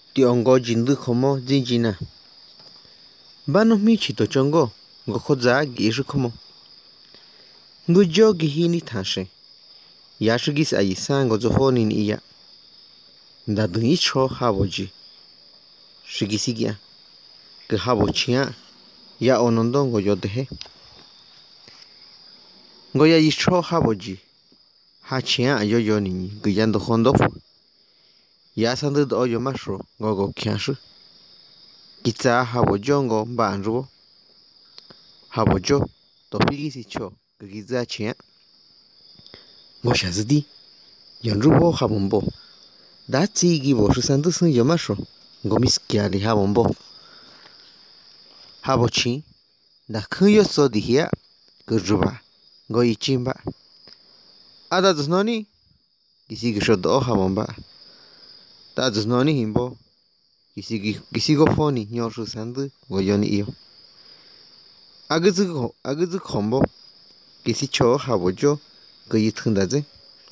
Tiongo jindu como jinjina. Bano mi chito chongo, go khoza gi como. Ngujo gihini tashe. Yashugis ayisango zohoni ni iya. Ndadu icho haboji. Shigisigia. Ke habochia. Ya onondongo yodehe. Ngoya icho haboji. Hachia ayoyo ni guyando hondofu. Ya sandu do yo masho gogo kyashu. Kitsa habojongo banjo. Habojo. Topigisi cho. Giza chia. Ngo shazidi. Yonrubo habombo. Datsi gibo shusandu sun yo masho. Ngo miskiali habombo. Habochi. Da kuyo so dihia. Gurjuba. Ngo ichimba. Ada zusnoni. Kisi gishodo habomba. Ta zusnoni himbo. Kisi go foni nyo shusandu go yoni iyo. Aguzu kombo. Kisi cho habojo. Go yitundaze.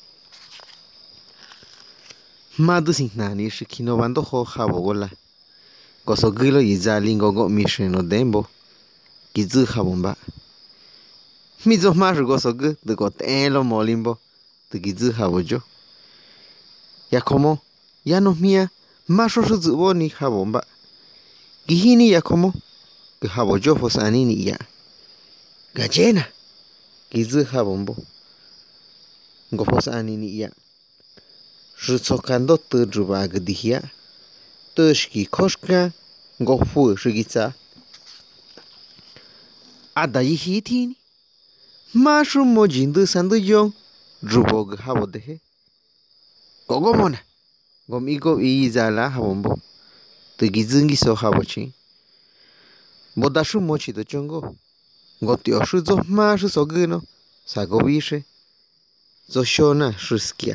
Madu sin nani shikino bando ho habogola. Goso gilo yizalingo go misheno dembo. Kizu habomba. Mizo mashu goso gu de go tenlo molimbo. De kizu habojo. Ya como. Ya no mía. Masho shuzubo ni habomba. Gihini ya como. Que habojo fosani ni ya. Gallena. Kizu habombo. Go fosani ni ya. Shutsokando tujuba gdihia. Tushki koshka. Go fu shigitsa. Ada yihitini. Mashu mojindu sandu yong. Rubog habodehe. Gogo mona. Gomigo izala habombo. Tugizungi so habochi. Bodashu mochi do chongo. Gotio shuzo mashu sogino. Sagobishe. Zoshona shuskia.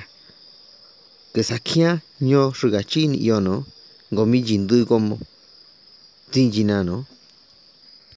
Kesakia nyo shugachin yono. Gomi jindu gomo. Zinjinano.